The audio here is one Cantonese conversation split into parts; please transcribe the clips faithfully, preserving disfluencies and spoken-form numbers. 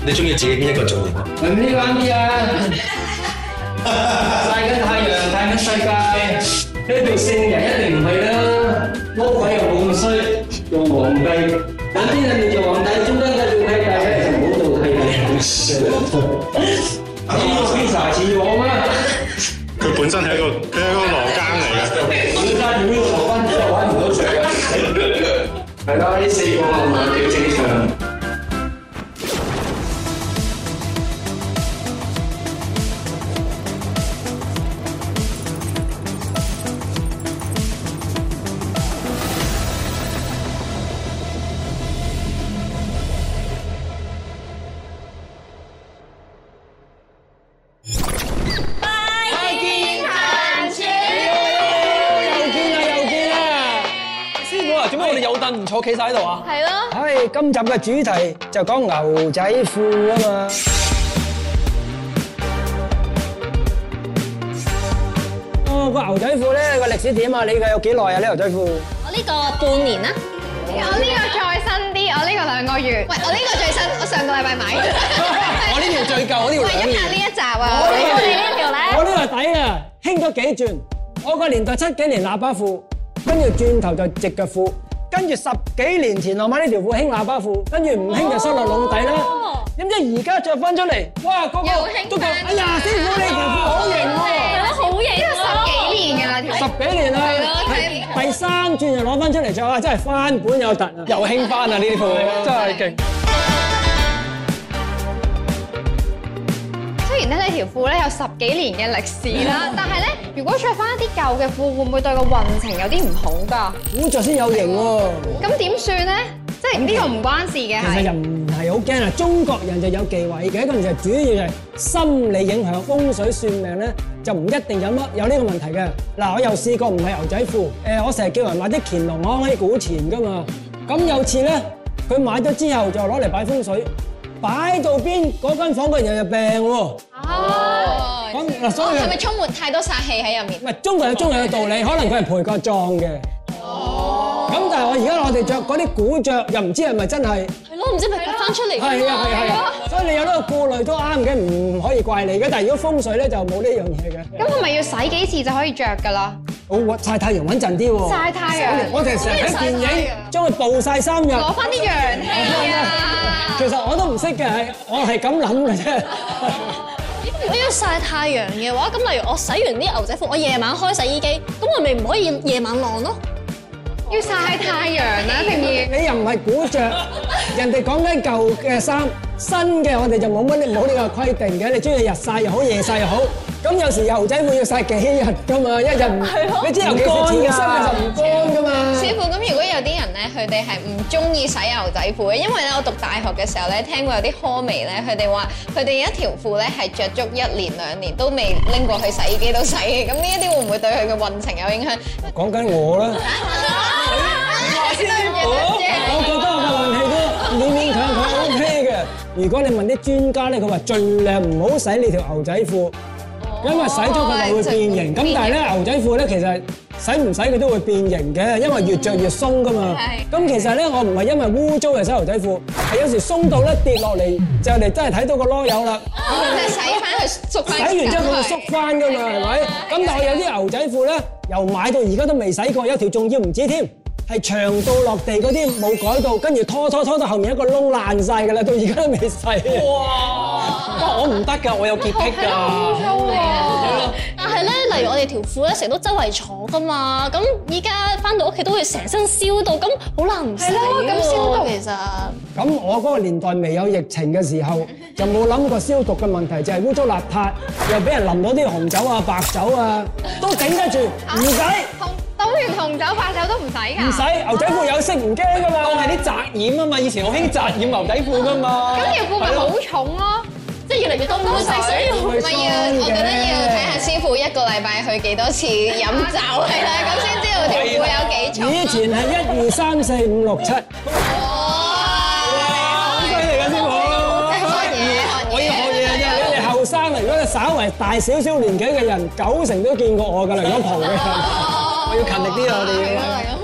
你中意自己邊一個造型啊？ 唔呢啱啲啊！曬緊太陽，睇緊世界，呢度聖人一定唔係啦。魔鬼又冇咁衰，用皇帝。有啲人做皇帝，中間嘅做契弟咧就唔好做契弟。呢個 pizza 似我咩？ 佢本身係一個佢係一個羅庚嚟嘅。 本身要呢個羅庚之後揾唔到食嘅。係啦，呢四個係咪幾正常？ 唔坐企晒喺度啊！ 係咯。 唉，今集嘅主題就講牛仔褲啊嘛。哦，個牛仔褲咧個歷史點啊？你嘅有幾耐啊？呢牛仔褲？ 我呢個半年啦。 我呢個再新啲，我呢個兩個月。喂，我呢個最新，我上個禮拜買。 我呢條最舊，我呢條兩年。 喂，一下呢一集啊！ 我哋呢條咧？ 我呢個底啊，興咗幾轉。我個年代七幾年喇叭褲，跟住轉頭就直腳褲。跟住十幾年前我買呢條褲興喇叭褲，跟住唔興就收落籠底啦。點知而家着翻出嚟，哇！個個都講：哎呀，師傅你條褲好型喎！ 係咯，好型啊！ 十幾年㗎啦條。 十幾年啦，第三轉就攞翻出嚟着啊！真係翻本有突啊！又興翻啊！呢啲褲真係勁。 雖然咧呢條褲咧有十幾年嘅歷史啦，但係咧如果着翻一啲舊嘅褲，會唔會對個運程有啲唔好㗎？ 古着先有型喎。 咁點算咧？即係呢個唔關事嘅係。 其實又唔係好驚啊！中國人就有忌諱嘅，嗰陣時主要係心理影響，風水算命咧就唔一定有乜有呢個問題嘅。嗱，我又試過唔係牛仔褲，誒，我成日叫人買啲乾隆行可以古錢㗎嘛。咁有次咧，佢買咗之後就攞嚟擺風水。擺到邊嗰間房嘅人有病喎。 哦。 咁嗱，所以係咪充滿太多殺氣喺入面？ 唔係，中國有中國嘅道理，可能佢係陪個葬嘅。哦。咁但係我而家我哋着嗰啲古着，又唔知係咪真係？ 係咯，唔知咪翻出嚟。 係啊係係啊。所以你有呢個顧慮都啱嘅，唔可以怪你嘅。但係如果風水咧就冇呢樣嘢嘅。 咁係咪要洗幾次就可以着㗎啦？ 好曬太陽穩陣啲喎。 曬太陽。 我哋成日睇電影，將佢暴曬三日。 攞翻啲陽氣啊！ 其實我都唔識嘅，係我係咁諗嘅啫。 如果要曬太陽嘅話，咁例如我洗完啲牛仔褲，我夜晚開洗衣機，咁我咪唔可以夜晚晾咯？ 要曬太陽啦，平兒。 你又唔係古着，人哋講緊舊嘅衫，新嘅我哋就冇乜冇呢個規定嘅。你中意日曬又好，夜曬又好。咁有時牛仔褲要曬幾日㗎嘛，一日唔，你知尤其是潮濕嘅就唔乾㗎嘛。 師傅，咁如果有啲人咧，佢哋係唔中意洗牛仔褲嘅，因為咧我讀大學嘅時候咧，聽過有啲科微咧，佢哋話佢哋一條褲咧係着足一年兩年都未拎過去洗衣機度洗嘅，咁呢一啲會唔會對佢嘅運程有影響？ 講緊我啦。我覺得我嘅運氣都勉勉強強 O K 嘅。如果你問啲專家咧，佢話盡量唔好洗你條牛仔褲。因為洗咗佢就會變形，咁但係咧牛仔褲咧其實洗唔洗佢都會變形嘅，因為越著越鬆噶嘛。咁其實咧我唔係因為污糟嚟洗牛仔褲，係有時鬆到咧跌落嚟就嚟真係睇到個籮柚啦。 咁就洗翻佢縮翻。 洗完之後佢會縮翻噶嘛，係咪？咁但係有啲牛仔褲咧，由買到而家都未洗過，有條仲要唔止添。係長到落地嗰啲冇改到，跟住拖拖拖到後面一個窿爛晒㗎啦，到而家都未洗。哇！ 我唔得㗎，我有潔癖㗎。 污糟喎！但係咧，例如我哋條褲咧，成日都周圍坐㗎嘛，咁依家翻到屋企都會成身燒到，咁好難唔洗喎。咁消毒其實。 咁我嗰個年代未有疫情嘅時候，就冇諗過消毒嘅問題，就係污糟邋遢，又俾人淋到啲紅酒啊、白酒啊，都頂得住，唔使。 倒完紅酒白酒都唔使㗎？ 唔使，牛仔褲有色唔驚㗎嘛。 當係啲紮染啊嘛，以前好興紮染牛仔褲㗎嘛。 咁條褲咪好重咯， 即係越嚟越多污洗，所以唔係要，我覺得要睇下師傅一個禮拜去幾多次飲酒係啦，咁先知道條褲有幾重。 以前係一二三四五六七。好犀利㗎師傅！我要學嘢啫，你哋後生啊，如果你稍為大少少年紀嘅人，九成都見過我㗎啦，如果蒲嘅人。我要勤力啲啊！我哋要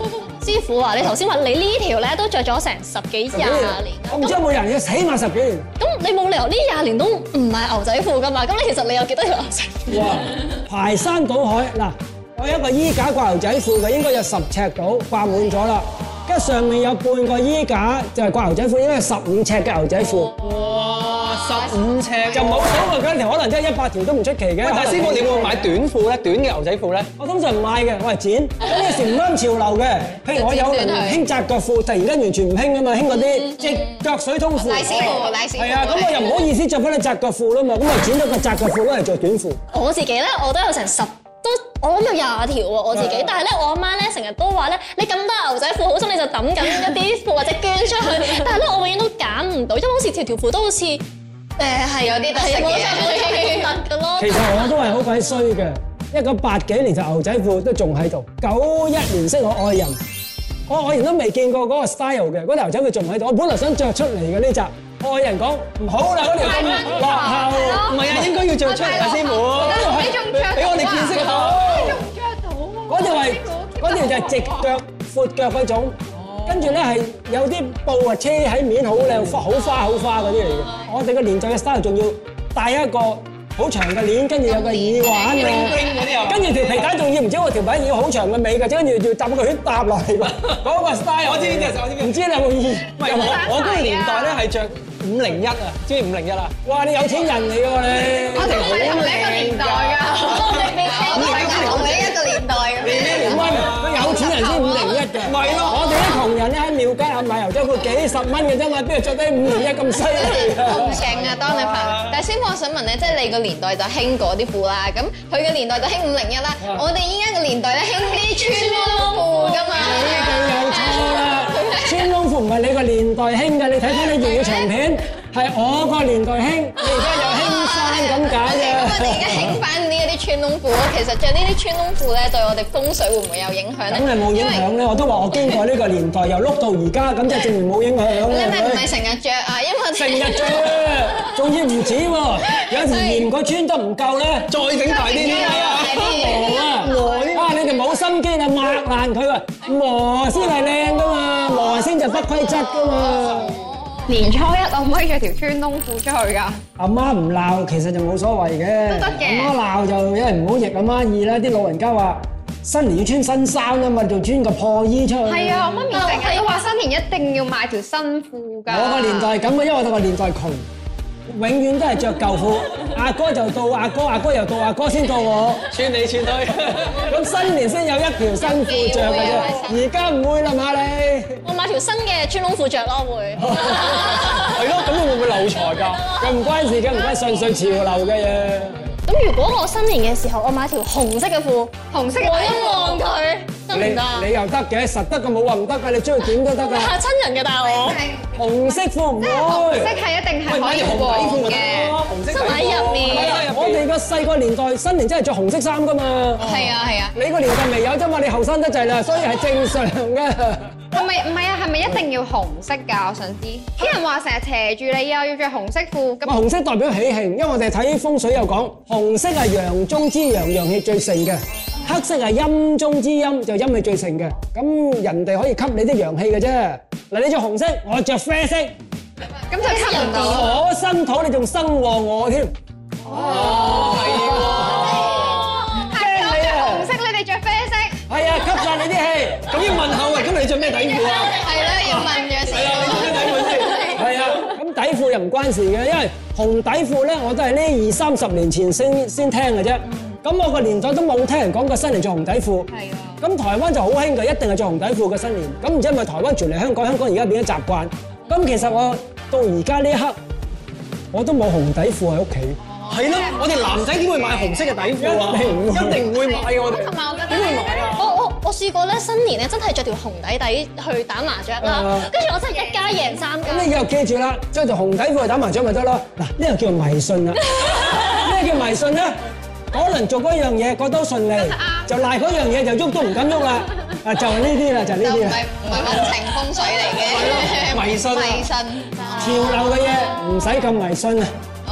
師傅啊，你頭先話你呢條咧都着咗成十幾廿年， 我唔知有冇人要起碼十幾年。 咁你冇理由呢廿年都唔買牛仔褲噶嘛？咁你其實你有幾多條牛仔褲？ 哇！排山倒海嗱，我有一個衣架掛牛仔褲嘅，應該有十尺到，掛滿咗啦。跟住上面有半個衣架就係掛牛仔褲，應該係十五尺嘅牛仔褲。 哇！十五尺就冇所謂嗰條，可能真係一百條都唔出奇嘅。 喂，但係師傅，你會唔會買短褲咧？短嘅牛仔褲咧？ 我通常唔買嘅，我係剪。咁有時唔啱潮流嘅，譬如我有人興窄腳褲，突然間完全唔興啊嘛，興嗰啲直腳水通褲。 賴師傅，賴師傅。 係啊，咁我又唔好意思着翻啲窄腳褲啦嘛，咁我剪咗個窄腳褲攞嚟着短褲。 我自己咧，我都有成十都，我諗有廿條喎我自己。但係咧，我阿媽咧成日都話咧，你咁多牛仔褲，好心你就抌緊一啲褲或者捐出去。但係咧，我永遠都揀唔到，因為好似條條褲都好似誒係有啲特色嘅， 特嘅咯。 其實我都係好鬼衰嘅，一九八幾年就牛仔褲都仲喺度，九一年識我愛人，我愛人都未見過嗰個 style 嘅，嗰條牛仔褲仲喺度，我本來想着出嚟嘅呢集。愛人講唔好啦，嗰條咁落後， 唔係啊，應該要着出嚟啊，師傅。 你仲着俾我哋見識下。 你仲着到喎？ 嗰條係嗰條就係直腳、闊腳嗰種，跟住咧係有啲布啊車喺面，好靚，好花好花嗰啲嚟嘅。我哋個年代嘅 style 仲要戴一個好長嘅鏈，跟住有個耳環啊，跟住條皮帶仲要唔知我條皮要好長嘅尾嘅，跟住要搭個圈搭落嚟㗎。嗰個 style 我知呢啲，我知。 唔知你有冇意見？ 唔係我我嗰個年代咧係着五零一啊，知唔知五零一啊？ 哇！你有錢人嚟㗎你， 我哋唔係同你一個年代㗎，我哋未聽過同你一個年代嘅。 你咩年溫？佢有錢人先五零一嘅。 咪咯， 我哋啲窮人咧喺廟街買牛仔褲幾十蚊嘅啫嘛，邊度着得五零一咁犀利啊？ 好勁啊！當你朋友，但係師傅我想問咧，即係你個年代就興嗰啲褲啦，咁佢嘅年代就興五零一啦，我哋依家個年代咧興啲穿窿褲㗎嘛。 你哋有錯啦，穿窿褲唔係你個年代興嘅，你睇翻啲粵語長片，係我個年代興，你而家有興翻咁解嘅。 咁我哋而家興翻呢一啲穿窿褲，其實着呢啲穿窿褲咧，對我哋風水會唔會有影響咧？ 咁你冇影響咧，我都話我經過呢個年代，又碌到而家，咁就證明冇影響。 你咪唔係成日着啊？因為成日着啊，仲要唔止喎，有時嫌個穿得唔夠咧， 再整大啲啲啊！ 磨啊，磨啊！你哋冇心機啊，抹爛佢啊，磨先係靚噶嘛，磨先就不規則噶嘛。 年初一可唔可以着條穿窿褲出去㗎？ 阿媽唔鬧，其實就冇所謂嘅。 都得嘅阿媽鬧就因為唔好逆阿媽意啦。啲老人家話新年要穿新衫啊嘛，就穿個破衣出去。 係啊，我媽咪成日都話新年一定要買條新褲㗎。 我個年代係咁嘅，因為我個年代窮，永遠都係着舊褲。阿哥就到阿哥，阿哥又到阿哥先到我， 穿嚟穿去。 咁新年先有一條新褲着嘅啫。而家唔會啦嘛你。 我買條新嘅穿窿褲着咯會。 係咯，咁你會唔會漏財㗎？ 佢唔關事嘅，唔關順水潮流嘅嘢。 咁如果我新年嘅時候，我買條紅色嘅褲， 紅色嘅望一望佢得唔得啊？ 你又得嘅，實得嘅冇話唔得㗎，你中意點都得㗎。 嚇親人嘅，但係我紅色褲唔紅色會。 係一定係喂，買可以條紅底褲咪黃嘅。 得咯，紅色底褲喺入面係啊我哋個細個年代新年真係着紅色衫㗎嘛。 係啊係啊， 你個年代未有啫嘛，你後生得滯啦，所以係正常嘅。 係咪唔係啊？係咪一定要紅色㗎？我想知。啲人話成日斜住你啊，要着紅色褲咁。 哇，紅色代表喜慶，因為我哋睇風水有講，紅色係陽中之陽，陽氣最盛嘅；黑色係陰中之陰，就陰氣最盛嘅。咁人哋可以吸你啲陽氣嘅啫。嗱，你着紅色，我着啡色， 咁就吸唔到。 我生土，你仲生旺我添。 哦，係係我着紅色，你哋着啡色。 係啊，吸晒你啲氣。 喎。咁要問下喂，咁你着咩底褲啊？ 係啦，要問嘅時係啊，你着咩底褲先？ 係啊，咁底褲又唔關事嘅，因為紅底褲咧，我都係呢二三十年前先先聽嘅啫。咁我個年代都冇聽人講過新年着紅底褲。係啊。咁台灣就好興嘅，一定係着紅底褲嘅新年。咁唔知係咪台灣傳嚟香港？香港而家變咗習慣。咁其實我到而家呢一刻，我都冇紅底褲喺屋企。 係咯，我哋男仔點會買紅色嘅底褲啊？ 一定唔會一定唔會買嘅我哋。 同埋我覺得點會買啊？ 我我我試過咧，新年咧真係着條紅底底去打麻雀啦，跟住我真係一家贏三家。 咁你以後記住啦，着條紅底褲去打麻雀咪得咯。嗱，呢個叫迷信啦。咩叫迷信咧？可能做嗰樣嘢覺得順利，就賴嗰樣嘢就喐都唔敢喐啦。啊，就係呢啲啦，就係呢就唔係啲啦。 唔係運程風水嚟嘅， 迷信啊迷信。 潮流嘅嘢唔使咁迷信啊。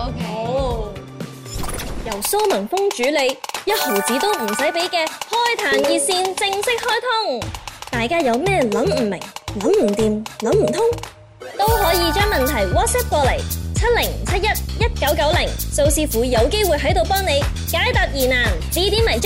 OK。 由蘇文峰主理，一毫子都唔使俾嘅開壇熱線正式開通。 大家有咩諗唔明、諗唔掂、諗唔通，都可以將問題 WhatsApp 過嚟七零七一一九九零，蘇師傅有機會喺度幫你解答疑難、指點迷津。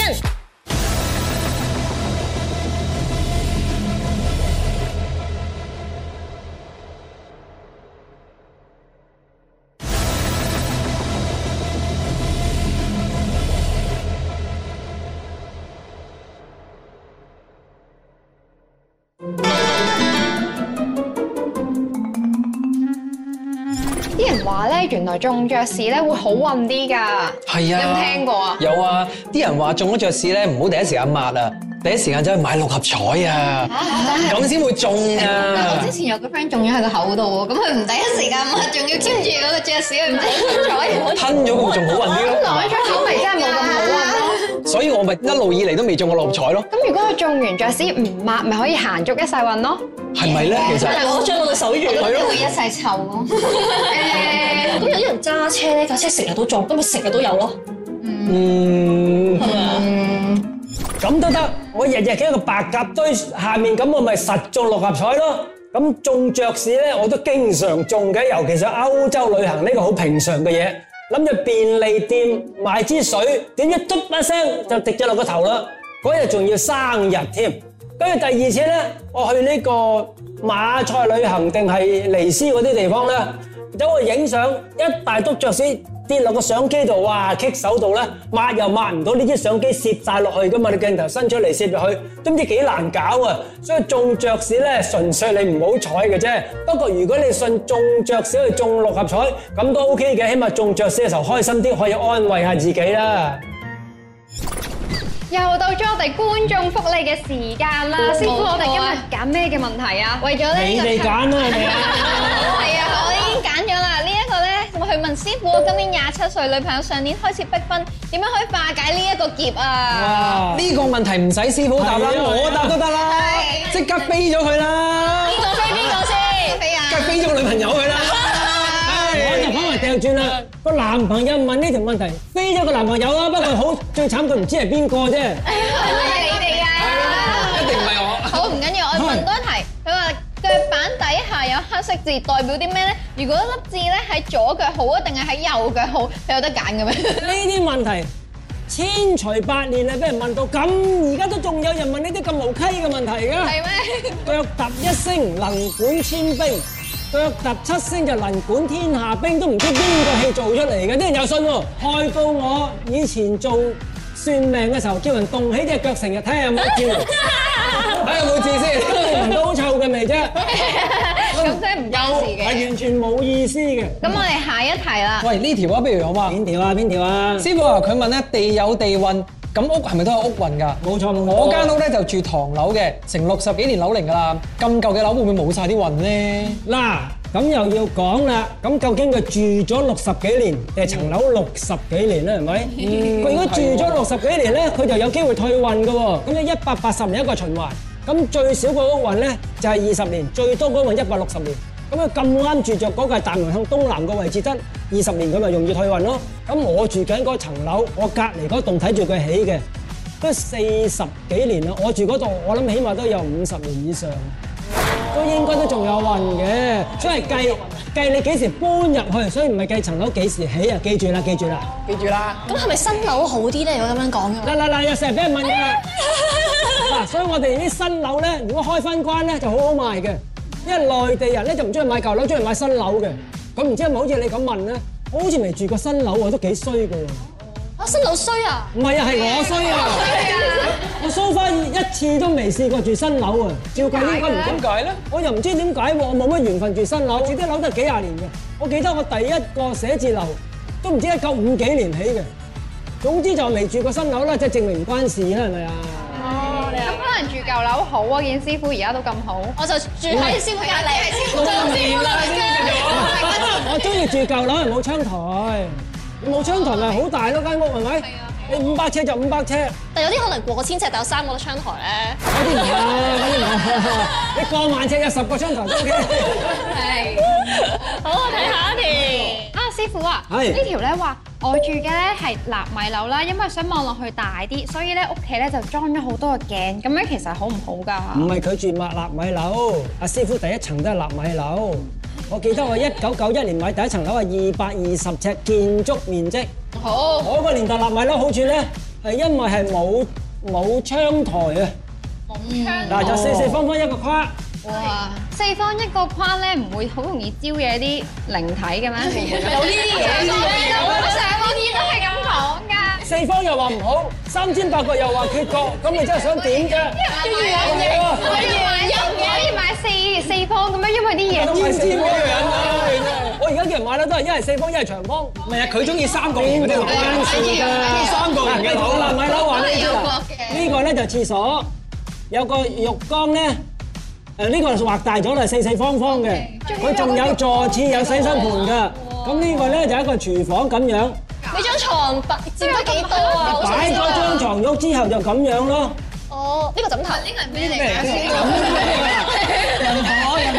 啲人話咧，原來中爵士咧會好運啲㗎。 係啊， 有冇聽過啊？ 有啊，啲人話中咗爵士咧，唔好第一時間抹啊，第一時間走去買六合彩啊，咁先會中但啊我之。前有個 friend 中咗喺個口度喎，咁佢唔第一時間抹，仲要 keep 住嗰個爵士去買六合彩。 吞咗咁仲好運啲咯， 攞咗口味真係冇咁好運咯。 所以我咪一路以嚟都未中過六合彩咯， 咁如果佢中完爵士唔抹，咪可以行足一世運咯。 係咪咧？其實但係我將我嘅手語我覺得會一世臭咯。 咁有啲人揸車咧，架車成日都中，咁咪成日都有咯。 嗯， 係咪啊？ 咁都得，我日日喺個白鴿堆下面，咁我咪實中六合彩咯。咁中爵士咧，我都經常中嘅，尤其是歐洲旅行呢個好平常嘅嘢。諗住便利店買支水，點知嘟一聲就滴咗落個頭啦。嗰日仲要生日添。跟住第二次咧，我去呢個馬賽旅行定係尼斯嗰啲地方咧，走去影相，一大篤爵士跌落個相機度，哇！棘手度咧，抹又抹唔到，呢支相機攝晒落去噶嘛，你鏡頭伸出嚟攝入去，都唔知幾難搞啊！所以中爵士咧，純粹你唔好彩嘅啫。不過如果你信中爵士去中六合彩，咁都 OK 嘅，起碼中爵士嘅時候開心啲，可以安慰下自己啦。 又到咗我哋觀眾福利嘅時間啦，師傅，我哋今日揀咩嘅問題啊？ 為咗咧你哋揀啦，係咪啊？ 係啊，我已經揀咗啦。呢一個咧，我去問師傅，我今年廿七歲，女朋友上年開始逼婚，點樣可以化解呢一個劫啊？ 哇！ 呢個問題唔使師傅答啦， 係啊我答都得啦， 係即刻飛咗佢啦， 邊個飛邊個先？ 飛啊！ 梗係飛咗個女朋友佢啦。 我就反為掉轉啦，個男朋友問呢條問題，飛咗個男朋友啦，不過好最慘佢唔知係邊個啫。 係咪你哋啊？ 一定唔係我。 好，唔緊要，我問多一題。佢話腳板底下有黑色字，代表啲咩咧？如果粒字咧喺左腳好啊，定係喺右腳好？佢有得揀嘅咩？ 呢啲問題千錘百煉啊，俾人問到咁，而家都仲有人問呢啲咁無稽嘅問題㗎。 係咩？ 腳踏一聲能管千兵，腳踏七聲就能管天下兵，都唔知邊個戲做出嚟嘅，啲人有信喎，害到我以前做算命嘅時候，叫人動起隻腳，成日睇下有冇字，睇下有冇字先，聞到好臭嘅味啫， 咁即係唔關事係嘅。 完全冇意思嘅。 咁我哋下一題啦。 喂，呢條啊，不如我話邊條啊？邊條啊？ 師傅啊，佢問咧地有地運，咁屋係咪都有屋運㗎？ 冇錯冇錯。 我間屋咧就住唐樓嘅，成六十幾年樓齡㗎啦。咁舊嘅樓會唔會冇晒啲運咧？ 嗱，咁又要講啦，咁究竟佢住咗六十幾年定係層樓六十幾年咧？係咪？佢如果住咗六十幾年咧，佢就有機會退運㗎喎。咁樣一百八十年一個循環，咁最少個屋運咧就係二十年，最多嗰運一百六十年。咁佢咁啱住着嗰個係大門向東南個位置得二十年，佢咪容易退運咯。咁我住緊嗰層樓，我隔離嗰棟睇住佢起嘅，都四十幾年啦。我住嗰度，我諗起碼都有五十年以上。都應該都仲有運嘅，所以計計你幾時搬入去，所以唔係計層樓幾時起啊！記住啦，記住啦。 記住啦。 咁係咪新樓好啲咧？如果咁樣講嘅話， 嗱嗱嗱，又成日俾人問㗎啦。嗱，所以我哋啲新樓咧，如果開翻關咧，就好好賣嘅，因為內地人咧就唔中意買舊樓，中意買新樓嘅。咁唔知係咪好似你咁問咧？我好似未住過新樓喎，都幾衰㗎喎。 啊新樓衰啊！ 唔係啊，係我衰啊！我蘇翻一次都未試過住新樓啊！照計應該唔點解咧？ 我又唔知點解喎，我冇乜緣分住新樓，住啲樓都係幾廿年嘅。我記得我第一個寫字樓都唔知一九五幾年起嘅。總之就未住過新樓啦，即係證明唔關事啦，係咪啊？ 哦，咁可能住舊樓好啊，見師傅而家都咁好。 我就住喺師傅隔離，係師傅就師傅啦。 我中意住舊樓，係冇窗台，冇窗台咪好大咯間屋係咪？你五百尺就五百尺， 但有啲可能過千尺，但有三個窗台咧。 嗰啲唔係，嗰啲唔係。你過萬尺有十個窗台都 OK。 係。好，我睇下一條。 啊，師師傅啊， 係呢條咧話我住嘅咧係納米樓啦，因為想望落去大啲，所以咧屋企咧就裝咗好多個鏡，咁樣其實好唔好㗎？ 唔係佢住麥納米樓，阿師傅第一層都係納米樓。我記得我一九九一年買第一層樓係二百二十尺建築面積。 好， 我個年代納米樓好處咧係因為係冇冇窗台啊，嗱就四四方方一個框。 哇！ 四方一個框咧，唔會好容易招惹啲靈體嘅咩？ 有呢啲嘢， 我上個月都係咁講㗎。 四方又話唔好，三尖八角又話缺角，咁你真係想點啫？ 可以買可以買四四方咁樣，因為啲嘢都係四方嘅人啊！我而家叫人買樓都係一係四方，一係長方。 唔係啊，佢中意三角形嗰啲樓， 關事㗎， 三角形嘅樓好啦，買樓話你知啦有角嘅。 呢個咧就廁所，有個浴缸咧。誒呢個畫大咗啦，四四方方嘅，佢仲有座廁，有洗手盆㗎。咁呢個咧就一個廚房咁樣。 你張床擺佔得幾多啊？好想擺知啊咗張床褥之後就咁樣咯。 哦，呢個枕頭呢個係咩嚟㗎？ 人可人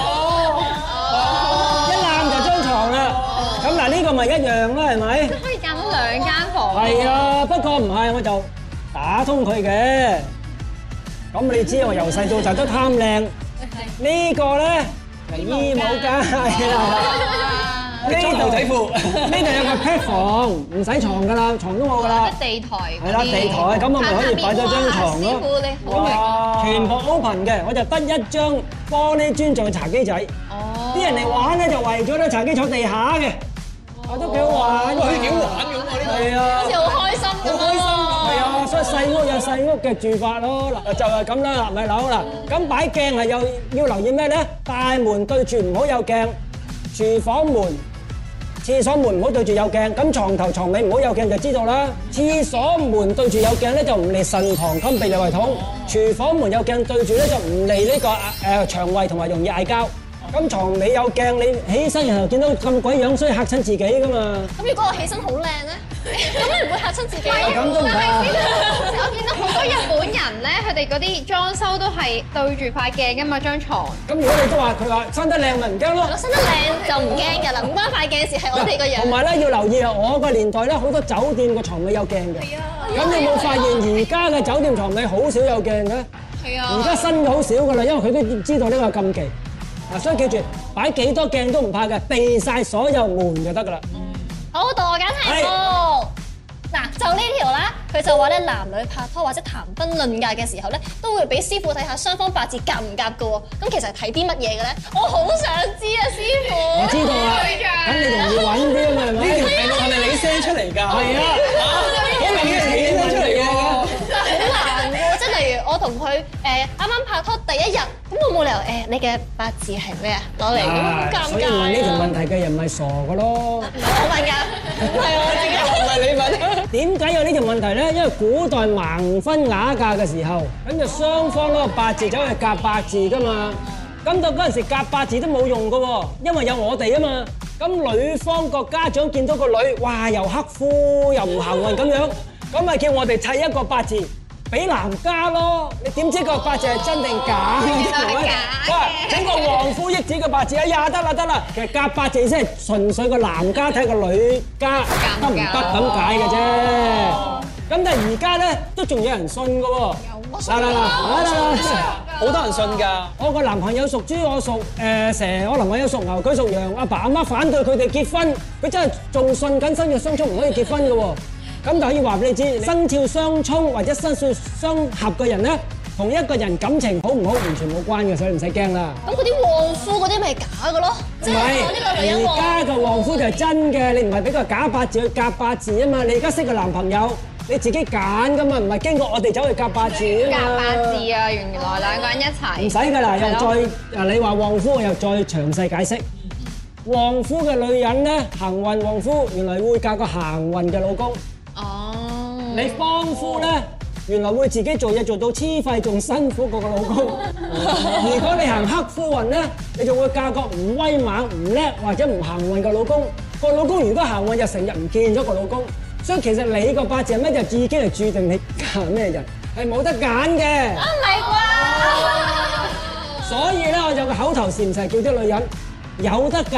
哦，一攬就張床啦。咁嗱呢個咪一樣啦，係咪？ 可以間到兩間房。 係啊，不過唔係，我就打通佢嘅。咁你知我由細到大都貪靚，呢個咧就衣帽街啦。 你裝牛仔褲， 呢度有個 pet 房，唔使床噶啦，床都冇噶啦。 地台係啦，地台咁我咪可以擺咗張床咯。 師傅你好哇！全部 open 嘅，我就得一張玻璃磚做茶幾仔。哦。啲人嚟玩咧就為咗咧茶幾坐地下嘅，我都幾好玩。 可以幾好玩咁喎呢度。 係啊。 好似好開心咁好開心咯。 係啊，所以細屋有細屋嘅住法咯，嗱就係咁啦，納米樓啦。咁擺鏡係有要留意咩咧？大門對住唔好有鏡，廚房門、廁所門唔好對住有鏡，咁床頭床尾唔好有鏡就知道啦。廁所門對住有鏡咧就唔利腎膀胱泌尿胃統，廚房門有鏡對住咧就唔利呢個誒腸胃同埋容易嗌交。咁床尾有鏡，你起身然後見到咁鬼樣衰嚇親自己噶嘛？ 咁如果我起身好靚咧，咁你唔會嚇親自己？ 咁都唔怕。 我見到好多日本人咧，佢哋嗰啲裝修都係對住塊鏡㗎嘛，張床。 咁如果你都話佢話生得靚咪唔驚咯我。生得靚就唔驚㗎啦，唔關塊鏡事，係我哋個樣。 同埋咧要留意啊，我個年代咧好多酒店個床尾有鏡嘅。 係啊。 咁你有冇發現而家嘅酒店床尾好少有鏡嘅？ 係啊而家新嘅好少㗎啦，因為佢都知道呢個禁忌。嗱，所以記住擺幾多鏡都唔怕嘅，避曬所有門就得㗎啦。 好，到我揀題目。嗱，就呢條啦，佢就話咧，男女拍拖或者談婚論嫁嘅時候咧，都會俾師傅睇下雙方八字夾唔夾㗎喎。咁其實係睇啲乜嘢嘅咧？我好想知啊，師傅。 我知道啦，咁你容易揾啲啊嘛，係咪？ 呢條題目係咪你 send 出嚟㗎？ 係啊， 好明顯係你 send 出嚟㗎。 但係好難喎，即係例如我同佢誒啱啱拍拖第一日，咁我冇理由誒你嘅八字係咩啊攞嚟，咁好尷所以尬問呢條啊！ 問題嘅人咪傻㗎咯。 唔係我問㗎，唔係我自己。 唔係你問。 點解有呢條問題咧？因為古代盲婚啞嫁嘅時候，咁就雙方嗰個八字走去夾八字噶嘛。咁到嗰陣時夾八字都冇用噶喎，因為有我哋啊嘛。咁女方個家長見到個女，哇又克夫又唔行運咁樣，咁咪叫我哋砌一個八字俾男家咯。你點知個八字係真定假嘅？係咪？哇！整個旺夫益子嘅八字，哎呀得啦得啦，其實夾八字先係純粹個男家睇個女家得唔得咁解嘅啫。咁但係而家咧都仲有人信嘅喎。嗱嗱嗱，嗱嗱嗱， 好多人信㗎。 我個男朋友屬豬，我屬誒蛇，我男朋友屬牛，佢屬羊。阿爸阿媽反對佢哋結婚，佢真係仲信緊生肖相沖唔可以結婚嘅喎。咁就可以話俾你知，生肖相沖或者生肖相合嘅人咧，同一個人感情好唔好完全冇關嘅，所以唔使驚啦。 咁嗰啲旺夫嗰啲咪假嘅咯？ 唔即係我呢個女人係，而旺。 家嘅旺夫就係真嘅，你唔係俾個假八字去夾八字啊嘛。你而家識個男朋友，你自己揀噶嘛，唔係經過我哋走去夾八字啊嘛。 夾八字啊，原來兩個人一齊。 唔使㗎啦，又係咯再啊！你話旺夫，我又再詳細解釋。旺夫嘅女人咧，行運旺夫，原來會嫁個行運嘅老公。 哦。 你幫夫咧，原來會自己做嘢做到黐肺，仲辛苦過個老公。如果你行克夫運咧，你就會嫁個唔威猛、唔叻或者唔行運嘅老公。個老公如果行運就成日唔見咗個老公。所以其實你個八字係咩就已經係註定你嫁咩人，係冇得揀嘅。 唔係啩？ 所以咧，我有個口頭禪就係叫啲女人有得嫁，求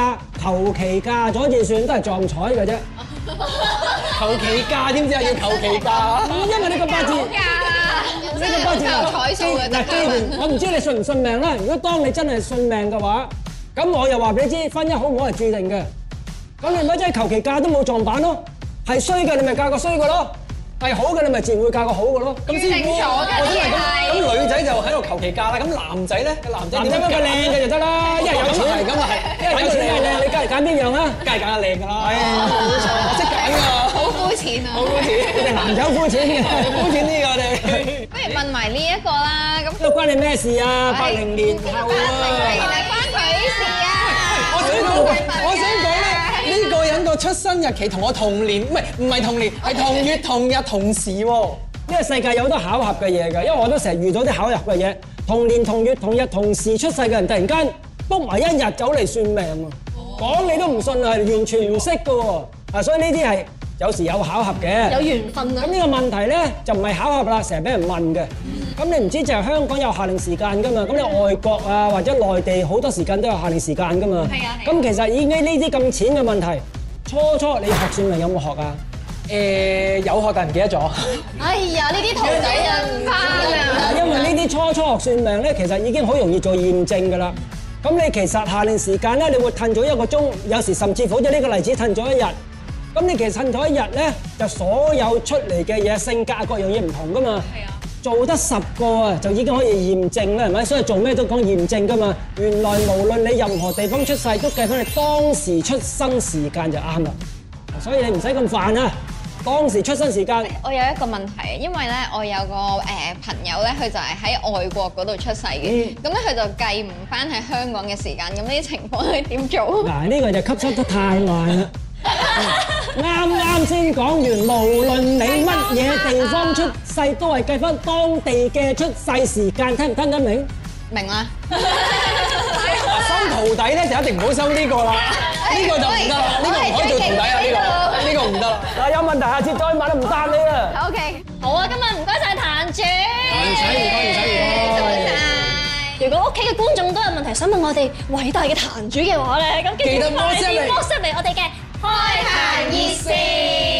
求其嫁咗至算，都係撞彩嘅啫。 求其嫁點知啊？要求其嫁， 因為你個八字， 㗎， 呢個八字靠彩數嘅嗱，既然我唔知你信唔信命啦。如果當你真係信命嘅話，咁我又話俾你知，婚姻好唔好係注定嘅。咁你咪真係求其嫁都冇撞板咯，係衰嘅你咪嫁個衰嘅咯，係好嘅你咪自然會嫁個好嘅咯。 咁先定咗㗎我真係呢咁，咁女仔就喺度求其嫁啦。咁男仔咧，個男仔男仔揾個靚嘅就得啦，一係有錢係咁啊係， 一係有錢一係靚，你梗係揀邊樣啊？ 梗係揀下靚㗎啦。係啊，冇錯，我識揀㗎。 好膚淺啊！ 好膚淺， 你哋男仔好膚淺嘅， 膚淺啲㗎我哋。 不如問埋呢一個啦，咁呢個關你咩事啊？八零年後八零年啊！ 係關佢事啊！ 我想講，我想講咧，呢個人個出生日期同我同年，唔係唔係同年，係同月同日同時喎。 呢個世界有好多巧合嘅嘢㗎，因為我都成日遇到啲巧合嘅嘢，同年同月同日同時出世嘅人，突然間 book 埋一日走嚟算命喎，講你都唔信係完全唔識㗎喎，啊，所以呢啲係有時有巧合嘅。 有緣分啊咁！呢個問題咧就唔係巧合啦，成日俾人問嘅。咁你唔知就係香港有夏令時間㗎嘛？咁你外國啊或者內地好多時間都有夏令時間㗎嘛？ 係啊係啊咁其實已經呢啲咁淺嘅問題，初初你學算命有冇學啊？ 誒有學但唔記得咗。 哎呀，呢啲徒弟啊唔翻啊！ 因為呢啲初初學算命咧，其實已經好容易做驗證㗎啦。咁你其實夏令時間咧，你會褪咗一個鐘，有時甚至乎好似呢個例子褪咗一日。咁你其實褪咗一日咧，就所有出嚟嘅嘢、性格各樣嘢唔同㗎嘛。係啊。做得十個啊，就已經可以驗證啦，係咪？所以做咩都講驗證㗎嘛。原來無論你任何地方出世，都計翻你當時出生時間就啱啦。所以你唔使咁煩啊。當時出生時間。 我有一個問題，因為咧我有個誒、呃、朋友咧，佢就係喺外國嗰度出世嘅，咁咧佢就計唔翻喺香港嘅時間，咁呢啲情況係點做？ 嗱，呢個就吸收得太慢啦。啱啱先講完，無論你乜嘢地方出世，都係計翻當地嘅出世時間，聽唔聽得明？ 明啦。 收徒弟咧就一定唔好收呢個啦，呢個就唔得啦，呢個唔可以做徒弟啊，呢個呢個唔得啦。 嗱，有問題下次再問啦，唔答你啦。 OK， 好啊，今日唔該晒壇主， 唔使唔該唔使唔該。 多謝。 如果屋企嘅觀眾都有問題想問我哋偉大嘅壇主嘅話咧，咁記得 WhatsApp 嚟 WhatsApp 嚟我哋嘅開壇熱線。